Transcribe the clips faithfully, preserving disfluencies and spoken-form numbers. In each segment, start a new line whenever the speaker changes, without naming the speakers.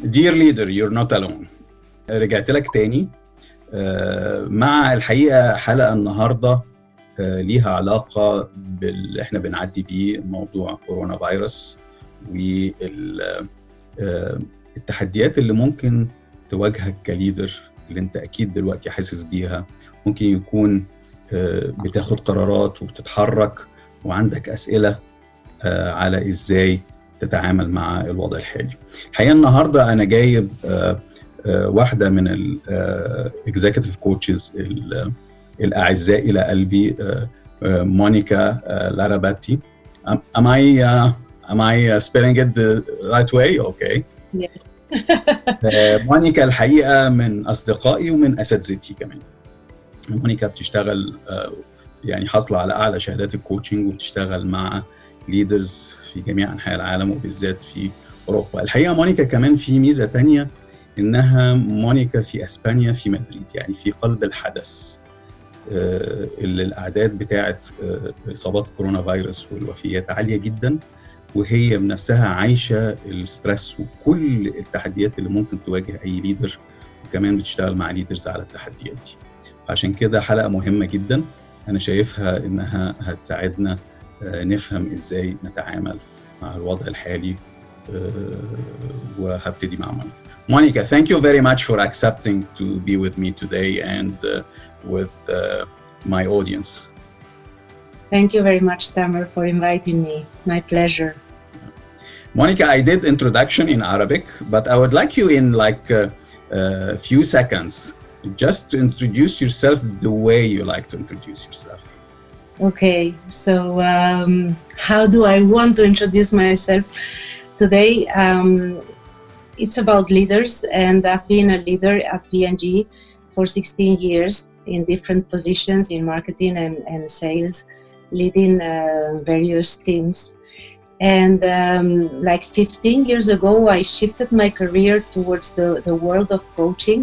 Dear leader, you're not alone. رجعت لك تاني مع الحقيقة حلقة النهاردة ليها علاقة باللي احنا بنعدي بيه موضوع كورونا فيروس والتحديات اللي ممكن تواجهك كليدر، اللي انت اكيد دلوقتي حاسس بيها. ممكن يكون بتاخد قرارات وبتتحرك وعندك أسئلة على ازاي تتعامل مع الوضع الحالي. الحقيقة النهاردة انا جايب واحدة من الاكزيكتيف كوتشز الاعزاء الى قلبي، مونيكا لاراباتي. Am I uh, am I spelling it the right way? Okay.
Yes.
مونيكا الحقيقة من أصدقائي ومن أساتذتي كمان. مونيكا بتشتغل يعني حاصلة على أعلى شهادات الكوتشنج وبتشتغل مع ليدرز في جميع أنحاء العالم وبالذات في أوروبا. الحقيقة مونيكا كمان في ميزة تانية، إنها مونيكا في أسبانيا في مدريد، يعني في قلب الحدث اللي الأعداد بتاعة إصابات كورونا فيروس والوفيات عالية جدا، وهي بنفسها عايشة الستريس وكل التحديات اللي ممكن تواجه أي ليدر، وكمان بتشتغل مع ليدرز على التحديات دي. عشان كده حلقة مهمة جدا، أنا شايفها إنها هتساعدنا نفهم إزاي نتعامل مع الوضع الحالي. وهبتدي مع مونيكا. Monica, thank you very much for accepting to be with me today and uh, with uh, my audience.
Thank you very much, Tamer, for inviting me. My pleasure.
Monica, I did introduction in Arabic, but I would like you in like a uh, uh, few seconds just to introduce yourself the way you like to introduce yourself.
Okay, so um, how do I want to introduce myself today? Um, it's about leaders, and I've been a leader at P and G for sixteen years in different positions in marketing and, and sales, leading uh, various teams. And um, like fifteen years ago, I shifted my career towards the, the world of coaching.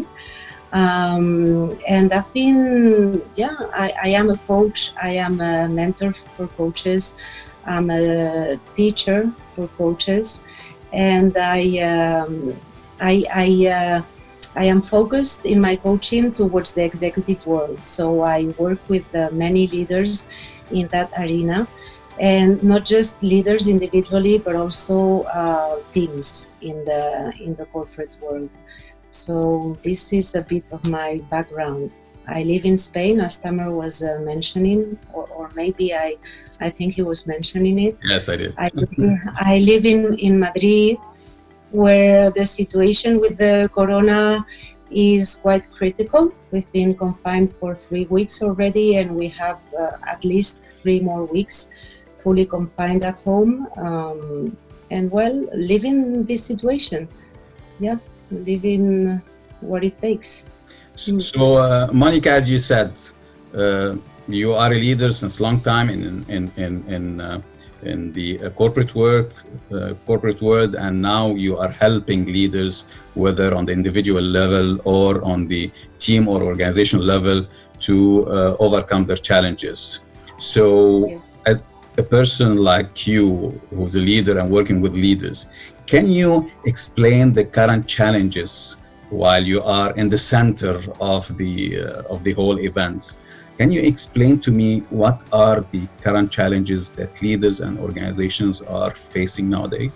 Um, and I've been, yeah, I, I am a coach, I am a mentor for coaches, I'm a teacher for coaches, and I, um, I, I, uh, I am focused in my coaching towards the executive world. So I work with uh, many leaders in that arena, and not just leaders individually, but also uh, teams in the in the corporate world. So this is a bit of my background. I live in Spain, as Tamer was uh, mentioning, or, or maybe I, I think he was mentioning it.
Yes, I did.
I, I live in, in Madrid, where the situation with the corona is quite critical. We've been confined for three weeks already, and we have uh, at least three more weeks fully confined at home. Um, and well, living this situation. Yeah. Living what it takes.
So, uh, Monica, as you said, uh, you are a leader since long time in in in in uh, in the uh, corporate work, uh, corporate world, and now you are helping leaders, whether on the individual level or on the team or organizational level, to uh, overcome their challenges. So, yeah. As a person like you, who's a leader and working with leaders, can you explain the current challenges while you are in the center of the uh, of the whole events? Can you explain to me what are the current challenges that leaders and organizations are facing nowadays?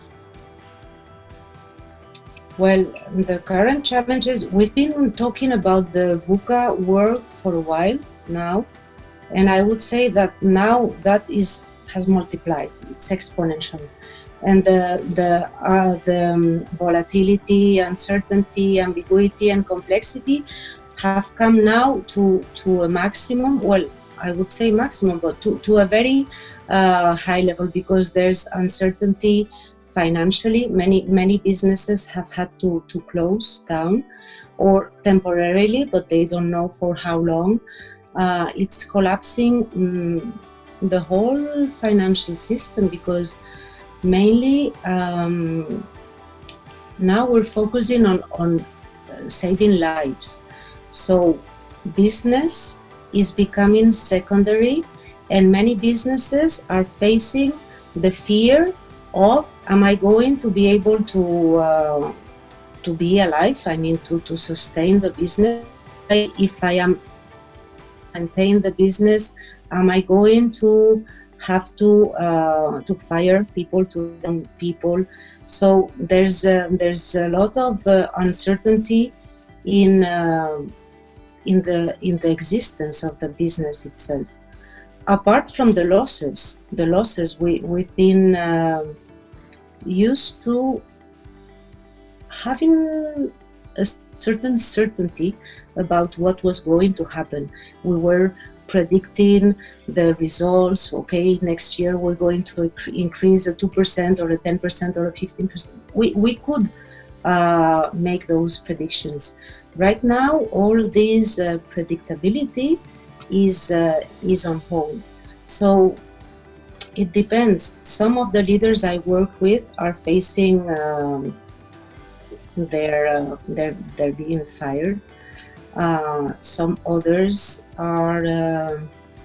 Well, the current challenges, we've been talking about the VUCA world for a while now, and I would say that now that is has multiplied. It's exponential. And the the, uh, the um, volatility, uncertainty, ambiguity, and complexity have come now to, to a maximum. Well, I would say maximum, but to, to a very uh, high level, because there's uncertainty financially. Many many businesses have had to, to close down, or temporarily, but they don't know for how long. Uh, it's collapsing um, the whole financial system, because mainly um, now we're focusing on, on saving lives. So business is becoming secondary, and many businesses are facing the fear of, am I going to be able to uh, to be alive, I mean to, to sustain the business. If I am maintain the business, am I going to have to uh, to fire people, to young people? So there's a, there's a lot of uh, uncertainty in uh, in the in the existence of the business itself. Apart from the losses, the losses we we've been uh, used to having a certain certainty about what was going to happen. We were predicting the results. Okay, next year we're going to increase a two percent or a ten percent or a fifteen percent. We, we could uh, make those predictions. Right now, all this uh, predictability is, uh, is on hold. So it depends. Some of the leaders I work with are facing um, they're, uh, they're, they're being fired. Uh, some others are uh,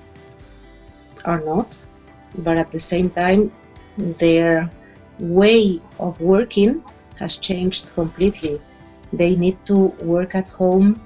are not, but at the same time their way of working has changed completely. They need to work at home.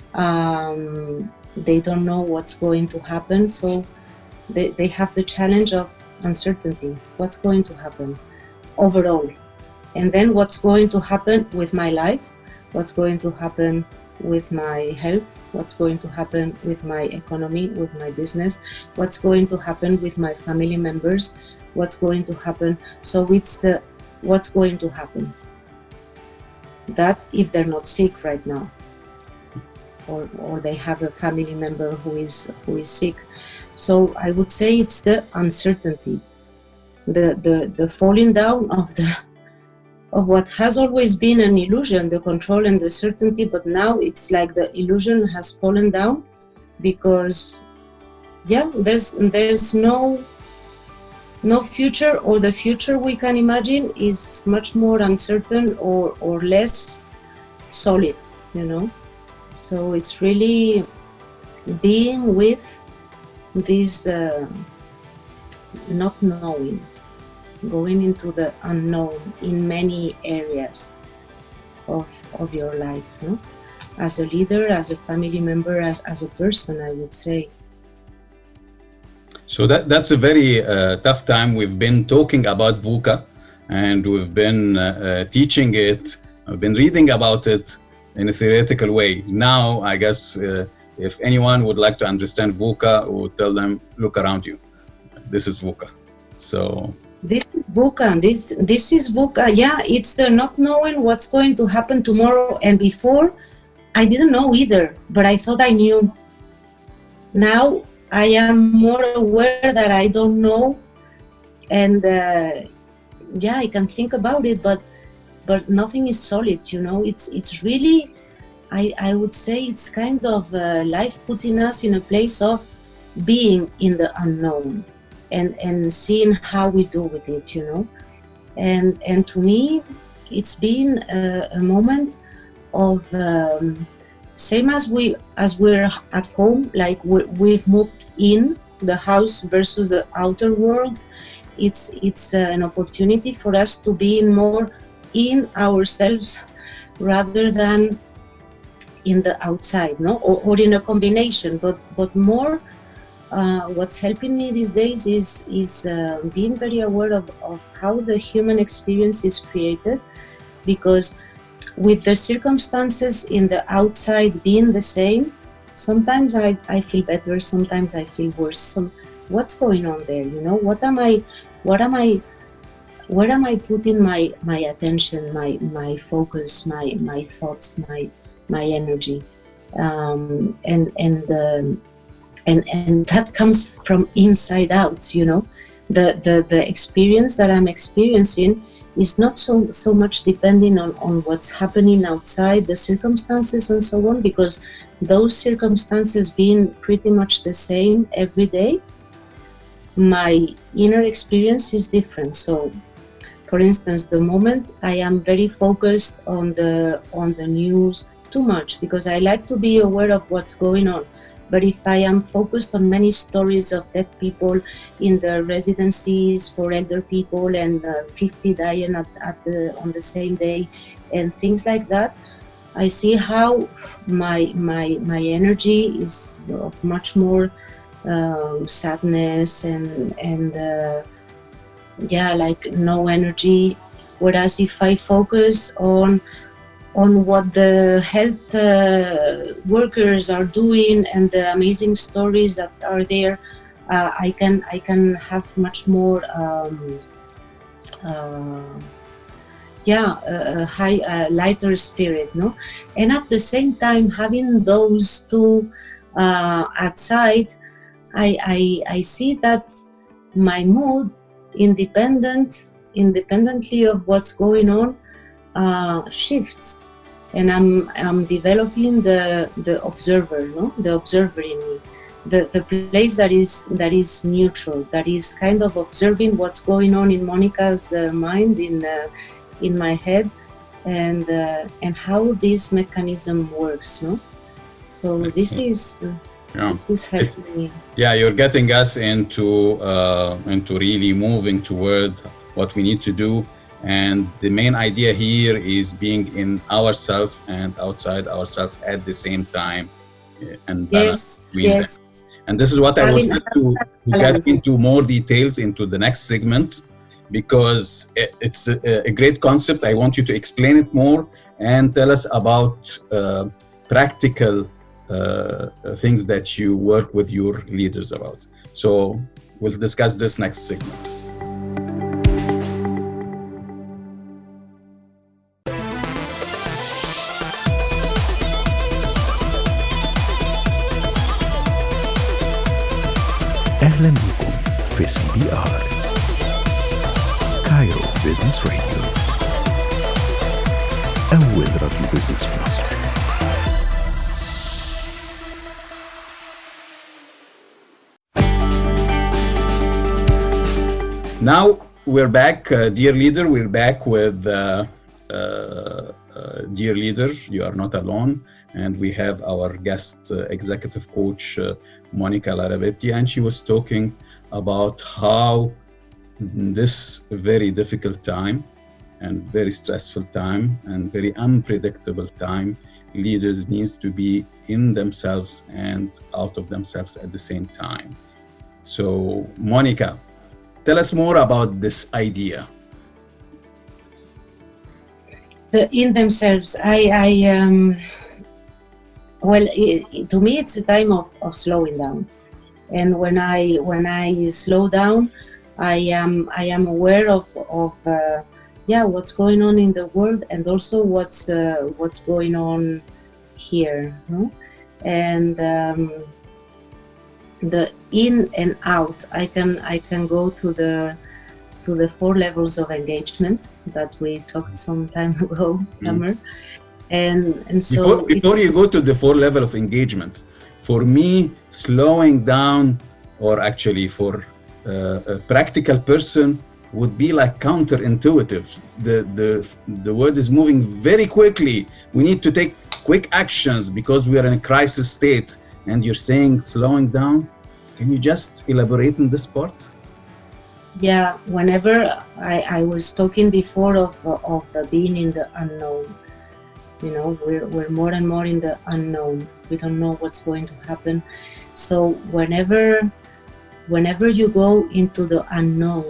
Um, they don't know what's going to happen, so they, they have the challenge of uncertainty. What's going to happen overall? And then what's going to happen with my life? What's going to happen with my health? What's going to happen with my economy, with my business? What's going to happen with my family members? What's going to happen? So it's the what's going to happen. That if they're not sick right now, or, or they have a family member who is who is sick. So I would say it's the uncertainty, the the, the falling down of the of what has always been an illusion, the control and the certainty, but now it's like the illusion has fallen down because, yeah, there's there's no no future, or the future we can imagine is much more uncertain or, or less solid, you know. So it's really being with this uh, not knowing, going into the unknown in many areas of of your life, no? As a leader, as a family member, as, as a person, I would say.
So that that's a very uh, tough time. We've been talking about VUCA, and we've been uh, uh, teaching it. I've been reading about it in a theoretical way. Now, I guess uh, if anyone would like to understand VUCA, we'll tell them, look around you. This is VUCA. So.
This is VUCA. This this is VUCA. Yeah, it's the not knowing what's going to happen tomorrow. And before, I didn't know either, but I thought I knew. Now I am more aware that I don't know, and uh, yeah, I can think about it, but but nothing is solid. You know, it's it's really, I I would say it's kind of uh, life putting us in a place of being in the unknown. And, and seeing how we do with it, you know. And and to me, it's been a, a moment of um, same as we as we're at home, like we, we've moved in the house versus the outer world. It's it's uh, an opportunity for us to be in more in ourselves rather than in the outside, no, or, or in a combination, but but more. Uh, what's helping me these days is is uh, being very aware of, of how the human experience is created, because with the circumstances in the outside being the same, sometimes I, I feel better, sometimes I feel worse. Some, what's going on there? You know, what am I, what am I, where am I putting my my attention, my my focus, my my thoughts, my my energy, um, and and. Um, And, and that comes from inside out, you know. The, the, the experience that I'm experiencing is not so, so much depending on, on what's happening outside, the circumstances and so on, because those circumstances being pretty much the same every day, my inner experience is different. So, for instance, the moment I am very focused on the, on the news too much, because I like to be aware of what's going on. But if I am focused on many stories of dead people in the residencies for elder people and uh, fifty dying at, at the, on the same day and things like that, I see how my my my energy is of much more uh, sadness and and uh, yeah, like no energy. Whereas if I focus on on what the health uh, workers are doing and the amazing stories that are there, uh, I can I can have much more um, uh, yeah a, a high uh, lighter spirit, no? And at the same time, having those two uh, outside, I, I I see that my mood, independent independently of what's going on, Uh, shifts, and I'm I'm developing the the observer, no, the observer in me, the the place that is that is neutral, that is kind of observing what's going on in Monica's uh, mind, in uh, in my head, and uh, and how this mechanism works, no. So this is uh, yeah. this is helping me.
Yeah, you're getting us into uh, into really moving toward what we need to do. And the main idea here is being in ourselves and outside ourselves at the same time, and balance
yes,
between
yes.
them. And this is what I would like to, to get into more details into the next segment, because it's a, a great concept. I want you to explain it more and tell us about uh, practical uh, things that you work with your leaders about. So we'll discuss this next segment.
أهلا بكم في سي بي آر كايرو بيزنس راديو، أول راديو بيزنس في مصر.
Now we're back, uh, dear leader. We're back with uh, uh, uh, dear leader. You are not alone, and we have our guest uh, executive coach uh, Monica Laravetti, and she was talking about how this very difficult time and very stressful time and very unpredictable time, leaders needs to be in themselves and out of themselves at the same time. So Monica, tell us more about this idea.
The in themselves, I, I um, well, it, to me, it's a time of, of slowing down. And when I when I slow down, I am I am aware of of uh, yeah what's going on in the world, and also what's uh, what's going on here, no? And um, the in and out, I can I can go to the to the four levels of engagement that we talked some time ago, Tamer. Mm. And and so
before, before you go to the four level of engagement, for me, slowing down, or actually for uh, a practical person, would be like counterintuitive. The the the world is moving very quickly. We need to take quick actions because we are in a crisis state. And you're saying slowing down. Can you just elaborate on this part?
Yeah, whenever I, I was talking before of of being in the unknown. You know, we're we're more and more in the unknown. We don't know what's going to happen. So whenever whenever you go into the unknown,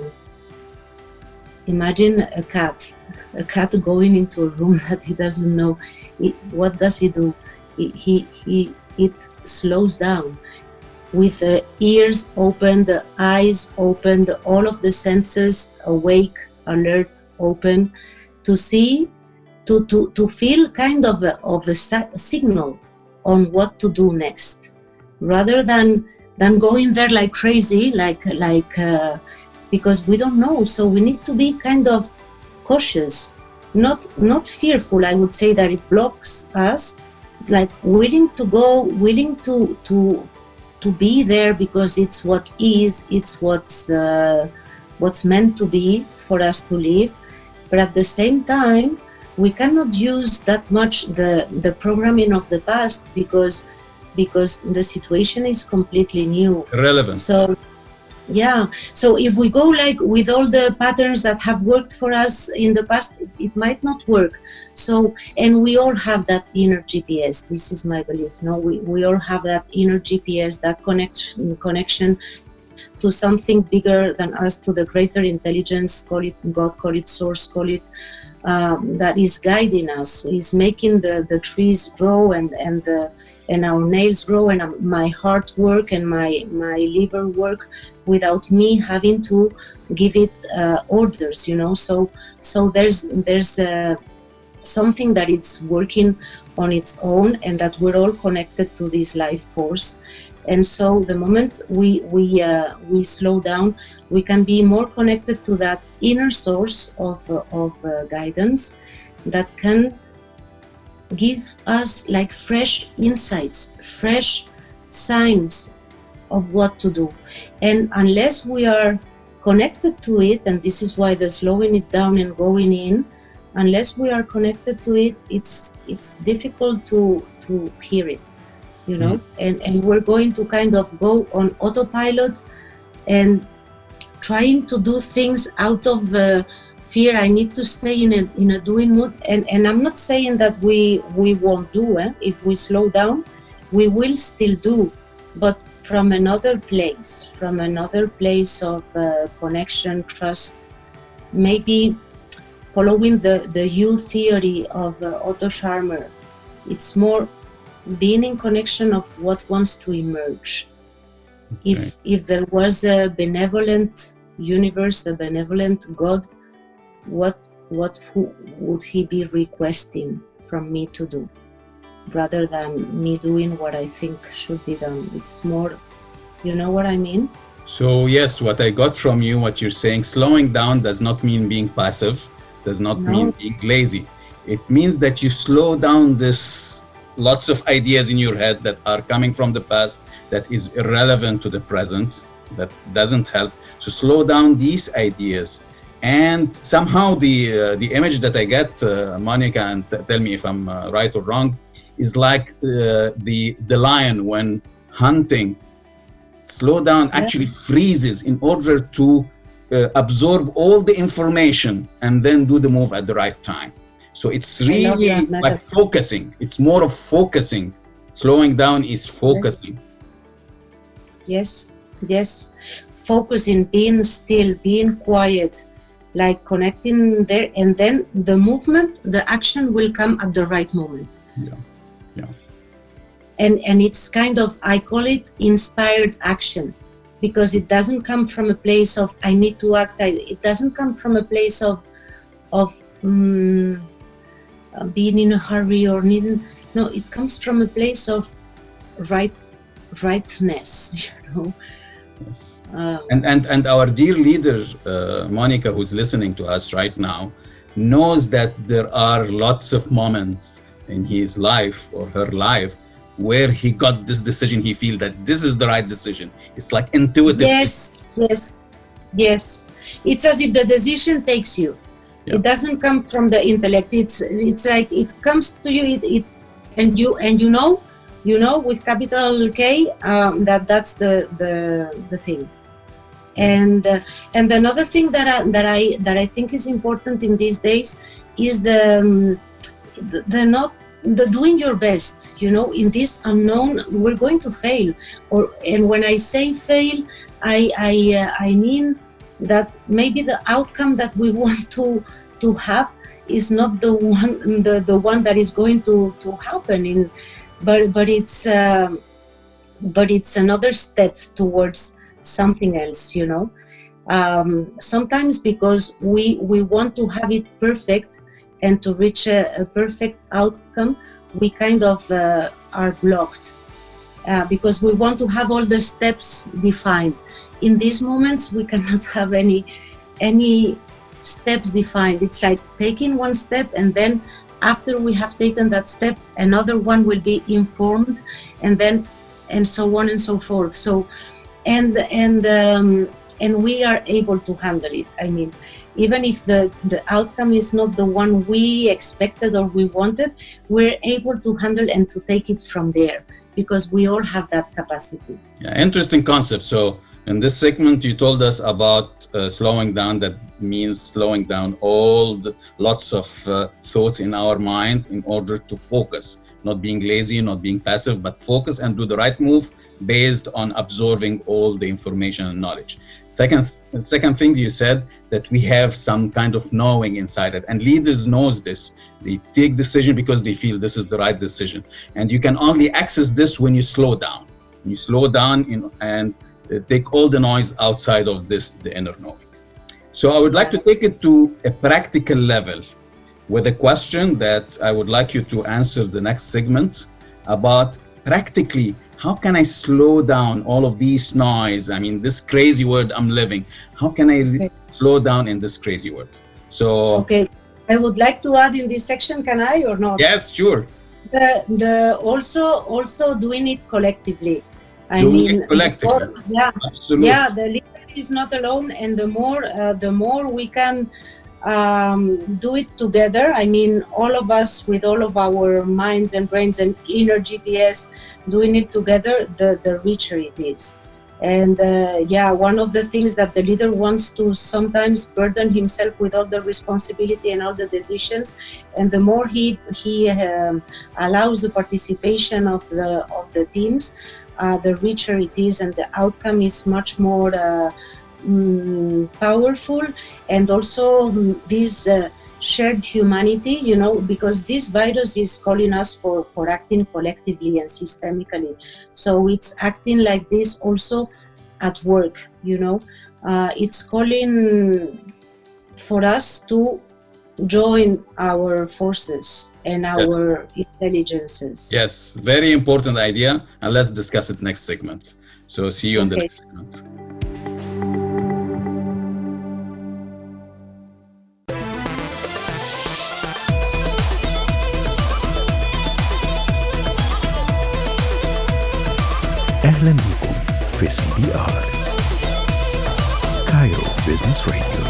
imagine a cat, a cat going into a room that he doesn't know. It, what does he do? He he he it slows down. With the ears open, the eyes open, the, all of the senses awake, alert, open, to see, to, to, to feel kind of a, of a signal on what to do next, rather than than going there like crazy, like like uh, because we don't know. So we need to be kind of cautious, not not fearful. I would say that it blocks us, like willing to go, willing to to. to be there because it's what is, it's what's uh, what's meant to be for us to live. But at the same time, we cannot use that much the, the programming of the past, because because the situation is completely new.
Relevant.
So, yeah. So if we go like with all the patterns that have worked for us in the past, it, it might not work. So, and we all have that inner G P S. This is my belief. No, we, we all have that inner G P S, that connection, connection to something bigger than us, to the greater intelligence, call it God, call it source, call it, um, that is guiding us, is making the, the trees grow and, and the and our nails grow and my heart work and my, my liver work without me having to give it uh, orders, you know. So so there's there's uh, something that it's working on its own, and that we're all connected to this life force. And so the moment we we uh, we slow down, we can be more connected to that inner source of uh, of uh, guidance that can give us like fresh insights, fresh signs of what to do. And unless we are connected to it, and this is why the slowing it down and going in, unless we are connected to it, it's it's difficult to to hear it, you know. Mm-hmm. and and we're going to kind of go on autopilot and trying to do things out of uh, fear. I need to stay in a in a doing mood, and and I'm not saying that we we won't do it. If we slow down, we will still do, but from another place, from another place of uh, connection, trust, maybe following the the U theory of uh, Otto Scharmer. It's more being in connection of what wants to emerge. Okay. If if there was a benevolent universe, a benevolent God, what what who would he be requesting from me to do, rather than me doing what I think should be done? It's more, you know what I mean?
So yes, what I got from you, what you're saying, slowing down does not mean being passive, does not no. mean being lazy. It means that you slow down this lots of ideas in your head that are coming from the past, that is irrelevant to the present, that doesn't help. So slow down these ideas. And somehow the uh, the image that I get, uh, Monica, and t- tell me if I'm uh, right or wrong, is like uh, the the lion when hunting. Slow down actually freezes in order to uh, absorb all the information and then do the move at the right time. So it's really like focusing. It's more of focusing. Slowing down is focusing.
Yes, yes. Focusing, being still, being quiet. Like connecting there, and then the movement, the action will come at the right moment.
Yeah, yeah.
And and it's kind of, I call it inspired action, because it doesn't come from a place of I need to act. I, it doesn't come from a place of of um, being in a hurry or needing. No, it comes from a place of right rightness. You know.
Yes. Um, and, and and our dear leader, uh, Monica, who's listening to us right now, knows that there are lots of moments in his life or her life where he got this decision, he feels that this is the right decision. It's like intuitive.
Yes, yes, yes. It's as if the decision takes you. Yeah. It doesn't come from the intellect. It's it's like it comes to you, it, it and you and you know. You know, with capital K, um, that that's the the the thing. And uh, and another thing that I, that I that I think is important in these days is the um, the, the not the doing your best. You know, in this unknown, we're going to fail. Or and when I say fail, I I uh, I mean that maybe the outcome that we want to to have is not the one the, the one that is going to to happen in. But but it's um, but it's another step towards something else, you know. Um, sometimes because we we want to have it perfect and to reach a, a perfect outcome, we kind of uh, are blocked uh, because we want to have all the steps defined. In these moments, we cannot have any any steps defined. It's like taking one step and then. After we have taken that step, another one will be informed, and then, and so on and so forth. So, and and um, and we are able to handle it. I mean, even if the, the outcome is not the one we expected or we wanted, we're able to handle and to take it from there, because we all have that capacity.
Yeah, interesting concept. So in this segment, you told us about uh, slowing down. That means slowing down all the lots of uh, thoughts in our mind in order to focus, not being lazy, not being passive, but focus and do the right move based on absorbing all the information and knowledge. Second, second thing you said, that we have some kind of knowing inside it, and leaders knows this. They take decision because they feel this is the right decision, and you can only access this when you slow down. When you slow down in, and take all the noise outside of this, the inner knowing. So I would like to take it to a practical level with a question that I would like you to answer the next segment about practically, how can I slow down all of these noise? I mean, this crazy world I'm living, how can I okay. slow down in this crazy world? So,
okay, I would like to add in this section, can I or not?
Yes, sure.
The, the also, also doing it collectively. I
doing
mean,
it collectively.
More, yeah,
absolutely.
Yeah, the leader is not alone, and the more, uh, the more we can um, do it together. I mean, all of us with all of our minds and brains and inner G P S doing it together, the, the richer it is. And uh, yeah, one of the things that the leader wants to sometimes burden himself with all the responsibility and all the decisions, and the more he he um, allows the participation of the of the teams, uh, the richer it is, and the outcome is much more uh, mm, powerful. And also mm, this uh, shared humanity, you know, because this virus is calling us for, for acting collectively and systemically. So it's acting like this also at work, you know. Uh, it's calling for us to join our forces and our yes. intelligences.
Yes, very important idea, and let's discuss it next segment. So see you okay. on the next segment.
أهلا بكم في سي بي آر كايرو بيزنس راديو،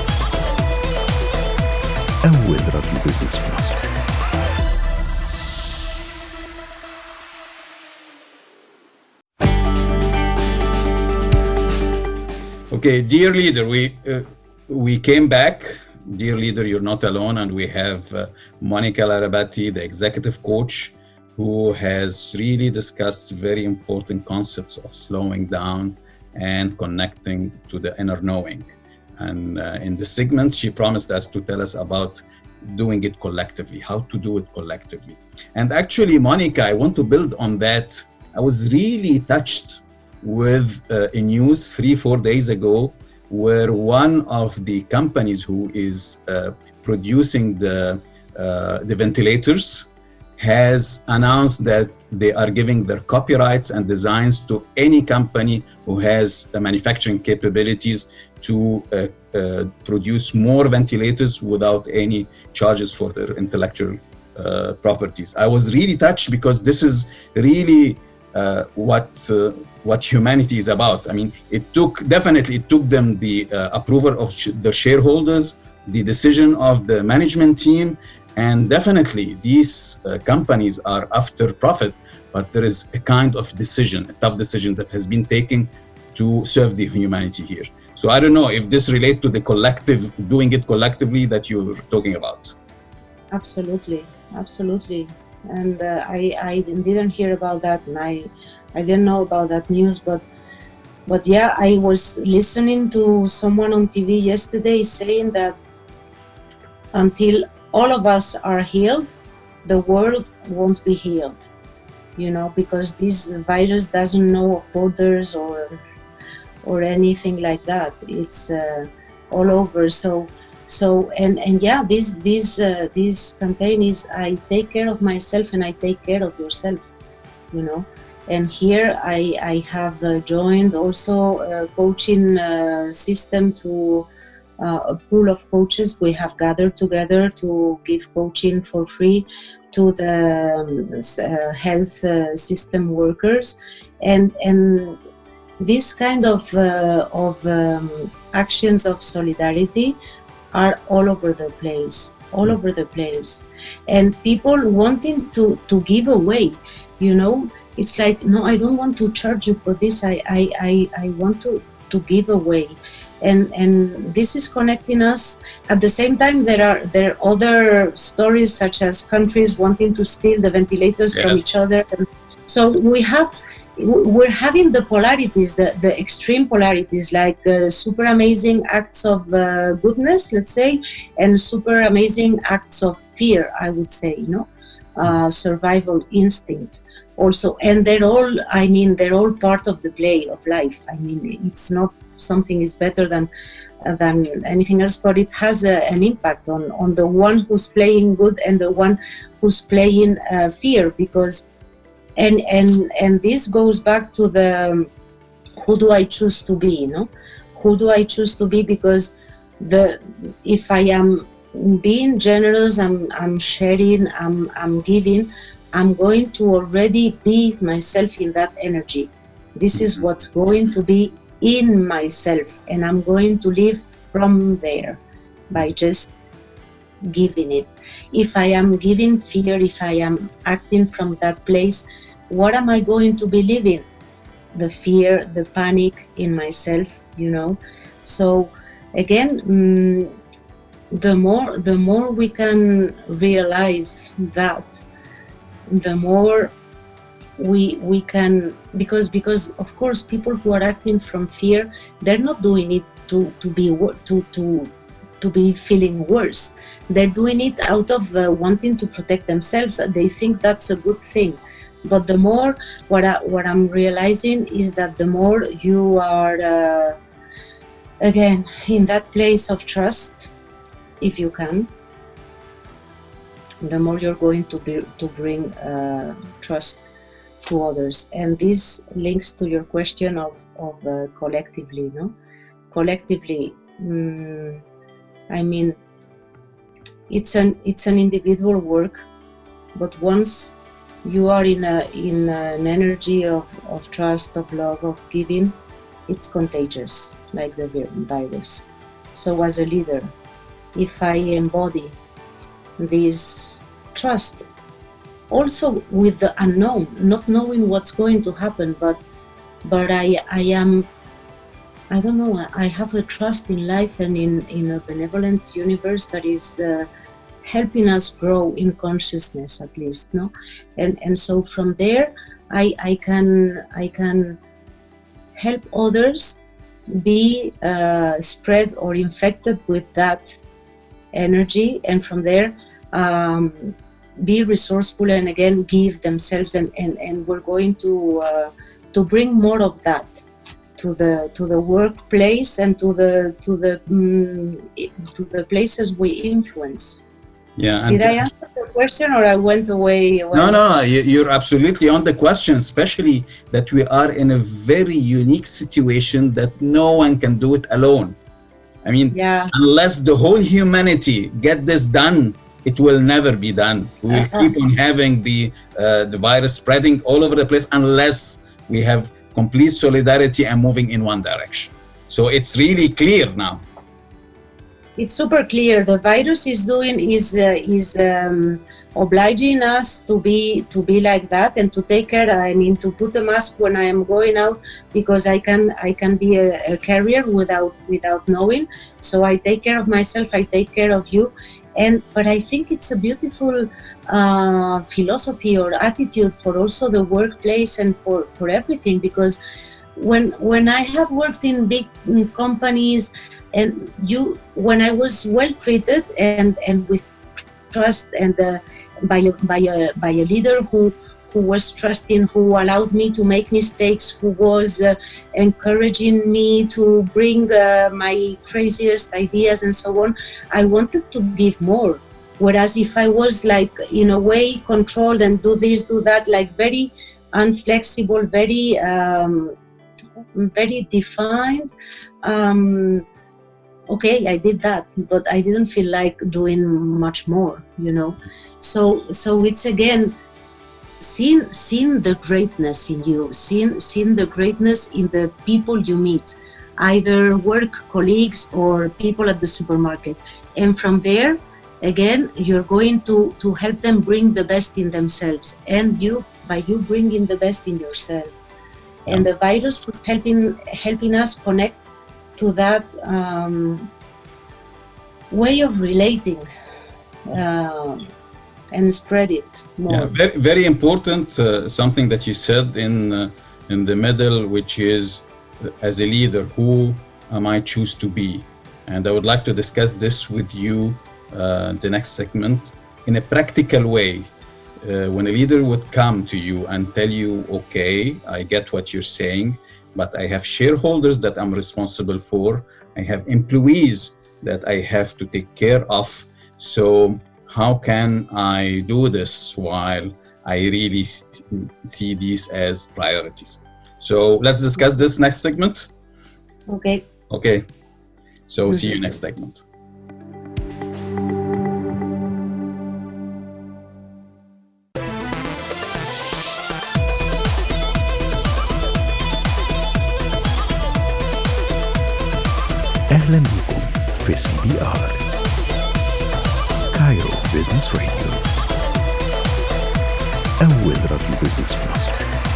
أول راديو بيزنس في مصر.
Okay, dear leader, we uh, we came back. Dear leader, you're not alone, and we have uh, Monica Larabati, the executive coach, who has really discussed very important concepts of slowing down and connecting to the inner knowing. And uh, in this segment, she promised us to tell us about doing it collectively, how to do it collectively. And actually, Monica, I want to build on that. I was really touched with uh, a news three, four days ago, where one of the companies who is uh, producing the, uh, the ventilators has announced that they are giving their copyrights and designs to any company who has the manufacturing capabilities to uh, uh, produce more ventilators without any charges for their intellectual uh, properties. I was really touched because this is really uh, what uh, what humanity is about. I mean, it took, definitely it took them the uh, approval of sh- the shareholders, the decision of the management team, and definitely these uh, companies are after profit, but there is a kind of decision, a tough decision that has been taken to serve the humanity here. So I don't know if this relates to the collective, doing it collectively that you were talking about.
Absolutely, absolutely. And uh, I, I didn't hear about that, and I, I didn't know about that news, but but yeah, I was listening to someone on T V yesterday saying that until all of us are healed, the world won't be healed, you know, because this virus doesn't know of borders or or anything like that. It's uh, all over. So, so and and yeah, this this uh, this campaign is I take care of myself and I take care of yourself, you know. And here I I have uh, joined also a coaching uh, system to. Uh, a pool of coaches. We have gathered together to give coaching for free to the um, uh, health uh, system workers, and and this kind of uh, of um, actions of solidarity are all over the place, all over the place. And people wanting to, to give away, you know, it's like, no, I don't want to charge you for this. I, I, I, I want to, to give away. And and this is connecting us. At the same time, there are there are other stories, such as countries wanting to steal the ventilators yes. from each other. And so we have, we're having the polarities, the, the extreme polarities, like uh, super amazing acts of uh, goodness, let's say, and super amazing acts of fear, I would say, you know, uh, survival instinct also. And they're all, I mean, they're all part of the play of life. I mean, it's not something is better than uh, than anything else, but it has a, an impact on on the one who's playing good and the one who's playing uh, fear, because and and and this goes back to the um, who do I choose to be, you know, who do I choose to be? Because the if I am being generous, I'm I'm sharing, I'm I'm giving, I'm going to already be myself in that energy. This is what's going to be in myself, and I'm going to live from there by just giving it. If I am giving fear, if I am acting from that place, what am I going to be living? The fear, the panic in myself, you know. So again, mm, the more the more we can realize that, the more we we can, because because of course people who are acting from fear, they're not doing it to to be to to to be feeling worse. They're doing it out of uh, wanting to protect themselves. They think that's a good thing. But the more what I, what I'm realizing is that the more you are uh, again in that place of trust, if you can, the more you're going to be to bring uh, trust to others. And this links to your question of, of uh, collectively, no? Collectively, mm, I mean, it's an it's an individual work, but once you are in a in an energy of, of trust, of love, of giving, it's contagious, like the virus. So as a leader, if I embody this trust, also with the unknown, not knowing what's going to happen, but but I I am, I don't know, I have a trust in life and in, in a benevolent universe that is uh, helping us grow in consciousness, at least, no? And and so from there, I I can I can help others be uh, spread or infected with that energy, and from there um, be resourceful and again give themselves, and, and, and we're going to uh, to bring more of that to the to the workplace and to the to the um, to the places we influence.
Yeah.
Did I answer the question, or I went away?
No, no, you're absolutely on the question, especially that we are in a very unique situation that no one can do it alone. I mean, yeah. Unless the whole humanity get this done, it will never be done. We will uh-huh. keep on having the uh, the virus spreading all over the place unless we have complete solidarity and moving in one direction. So it's really clear now.
It's super clear. The virus is doing is uh, is um, obliging us to be to be like that and to take care. I mean, to put a mask when I am going out, because I can I can be a, a carrier without without knowing. So I take care of myself. I take care of you. And but I think it's a beautiful uh, philosophy or attitude for also the workplace and for, for everything, because when when I have worked in big companies, and you when I was well treated and, and with trust and uh, by a by a by a leader who who was trusting, who allowed me to make mistakes, who was uh, encouraging me to bring uh, my craziest ideas and so on, I wanted to give more. Whereas if I was like in a way controlled and do this, do that, like very unflexible, very um, very defined, um, okay, I did that, but I didn't feel like doing much more, you know. So so it's again seeing seeing the greatness in you, seeing seeing the greatness in the people you meet. either work colleagues or people at the supermarket. And from there, again, you're going to, to help them bring the best in themselves, and you, by you bringing the best in yourself. Yeah. And the virus was helping, helping us connect to that um, way of relating uh, and spread it more.
Yeah, very, very important, uh, something that you said in, uh, in the middle, which is, uh, as a leader, who am I choose to be? And I would like to discuss this with you uh, the next segment in a practical way. Uh, when a leader would come to you and tell you, okay, I get what you're saying, but I have shareholders that I'm responsible for. I have employees that I have to take care of. So how can I do this while I really see these as priorities? So let's discuss this next segment.
Okay.
Okay. So mm-hmm. See you next segment.
أهلا بكم في سي بي آر كايرو بيزنس راديو، أول راديو بيزنس في مصر.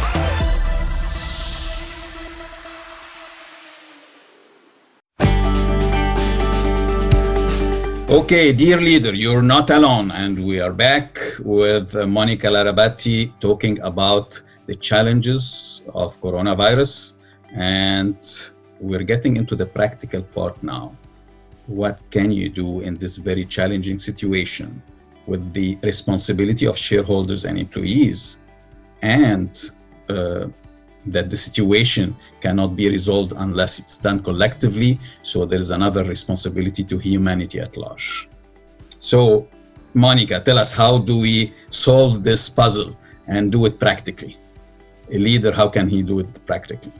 Okay, dear leader, you're not alone, and we are back with Monica Larabati talking about the challenges of coronavirus, and we're getting into the practical part now. What can you do in this very challenging situation with the responsibility of shareholders and employees, and uh, that the situation cannot be resolved unless it's done collectively. So there is another responsibility to humanity at large. So Monica, tell us, how do we solve this puzzle and do it practically? A leader, how can he do it practically?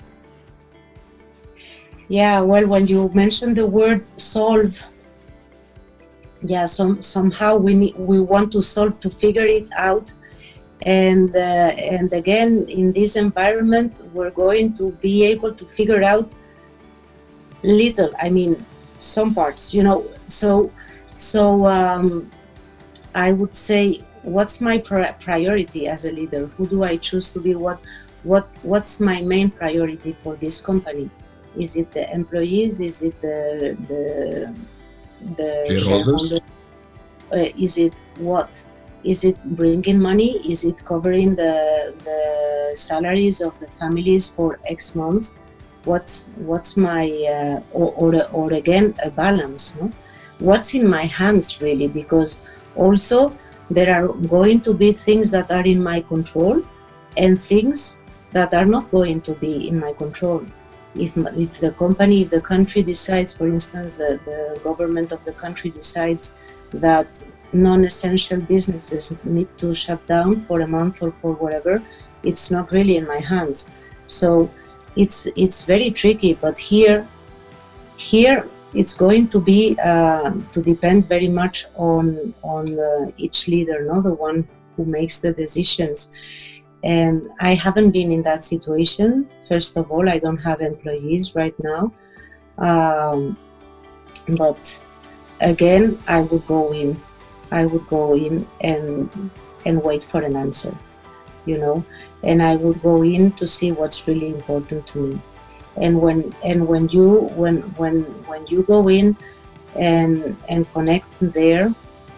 Yeah, well, when you mention the word solve, yeah, some, somehow we need, we want to solve, to figure it out. And uh, and again, in this environment, we're going to be able to figure out little, I mean, some parts, you know. So, so um, I would say, what's my pri- priority as a leader? Who do I choose to be? What, what, what's my main priority for this company? Is it the employees? Is it the the the
shareholders?
Uh, is it what? Is it bringing money? Is it covering the the salaries of the families for X months? What's what's my uh, or, or or again a balance? No? What's in my hands really? Because also there are going to be things that are in my control and things that are not going to be in my control. If if the company, if the country decides, for instance, the, the government of the country decides that non-essential businesses need to shut down for a month or for whatever, it's not really in my hands. So it's it's very tricky. But here, here it's going to be uh, to depend very much on on uh, each leader, not the one who makes the decisions. And I haven't been in that situation. First of all, I don't have employees right now. Um, but again, I would go in. I would go in and and wait for an answer, you know. And I would go in to see what's really important to me. And when and when you when when when you go in and and connect there,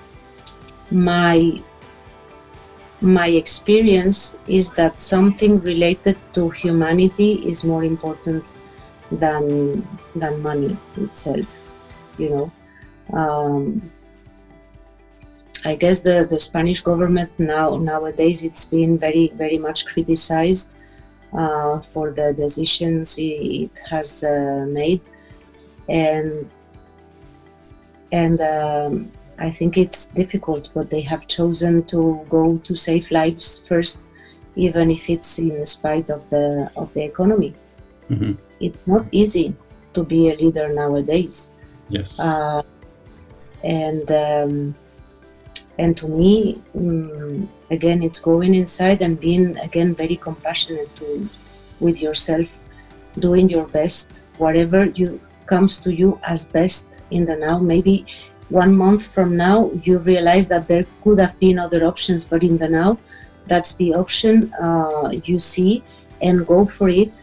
my my experience is that something related to humanity is more important than than money itself, you know. Um, I guess the, the Spanish government now nowadays it's been very very much criticized uh, for the decisions it has uh, made, and and um, I think it's difficult, but they have chosen to go to save lives first, even if it's in spite of the of the economy. Mm-hmm. It's not easy to be a leader nowadays.
Yes,
uh, and. Um, And to me, um, again, it's going inside and being, again, very compassionate to, with yourself, doing your best whatever you comes to you as best in the now. Maybe one month from now you realize that there could have been other options, but in the now, that's the option uh, you see, and go for it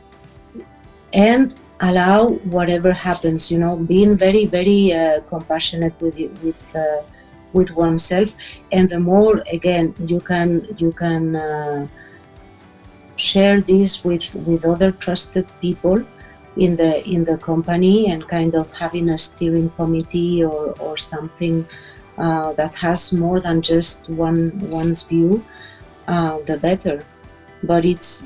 and allow whatever happens, you know, being very, very uh, compassionate with you, with uh, with oneself. And the more, again, you can you can uh, share this with with other trusted people in the in the company, and kind of having a steering committee or or something uh, that has more than just one one's view, uh, the better. But it's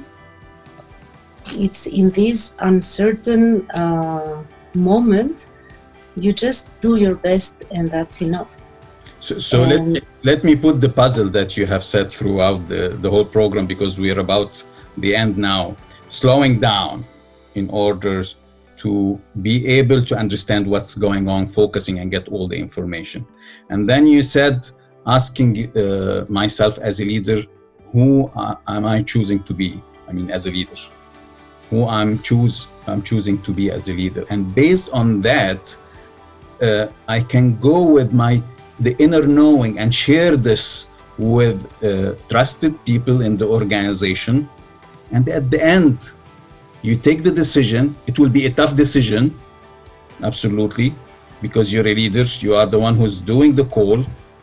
it's in this uncertain uh, moment, you just do your best, and that's enough.
So, so let me, let me put the puzzle that you have said throughout the, the whole program, because we are about the end now. Slowing down in order to be able to understand what's going on, focusing and get all the information. And then you said, asking uh, myself as a leader, who uh, am I choosing to be? I mean, as a leader, who I'm choose I'm choosing to be as a leader. And based on that, uh, I can go with my the inner knowing and share this with uh, trusted people in the organization. And at the end, you take the decision. It will be a tough decision, absolutely, because you're a leader. You are the one who's doing the call,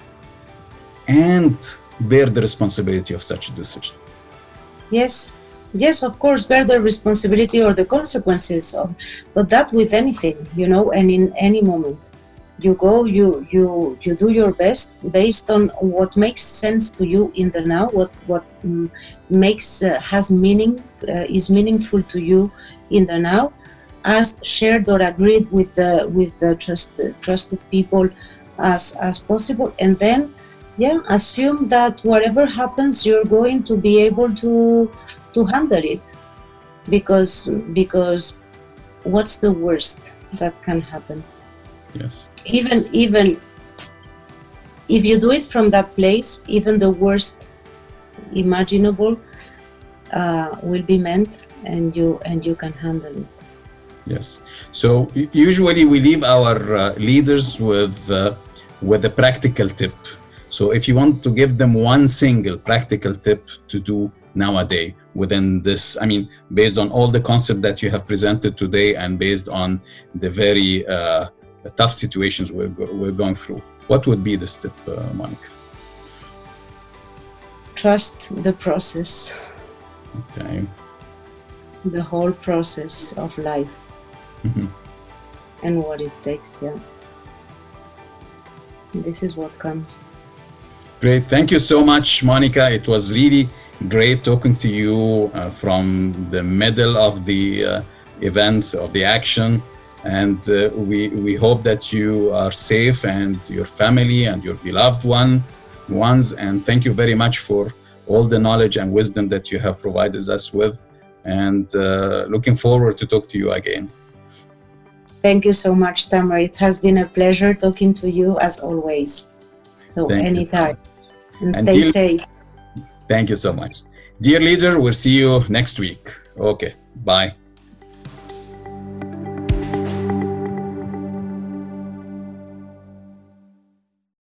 and bear the responsibility of such a decision.
Yes, yes, of course, bear the responsibility or the consequences of, but that with anything, you know, and in any moment. You go, you you you do your best based on what makes sense to you in the now, what what um, makes uh, has meaning, uh, is meaningful to you in the now, as shared or agreed with the with the trusted trusted people as as possible. And then, yeah, assume that whatever happens, you're going to be able to to handle it, because because what's the worst that can happen?
Yes.
Even even if you do it from that place, even the worst imaginable uh, will be meant, and you and you can handle it.
Yes. So usually we leave our uh, leaders with uh, with a practical tip. So if you want to give them one single practical tip to do nowadays within this, I mean, based on all the concepts that you have presented today, and based on the very uh, the tough situations we're, go- we're going through, what would be the step, uh, Monica?
Trust the process.
Okay.
The whole process of life.
Mm-hmm.
And what it takes, yeah. This is what comes.
Great. Thank you so much, Monica. It was really great talking to you uh, from the middle of the uh, events, of the action. And uh, we we hope that you are safe, and your family and your beloved one ones. And thank you very much for all the knowledge and wisdom that you have provided us with. And uh, looking forward to talk to you again.
Thank you so much, Tamar. It has been a pleasure talking to you as always. So
Thank
anytime. And,
And
stay
dear-
safe.
Thank you so much. Dear leader, we'll see you next week. Okay, bye.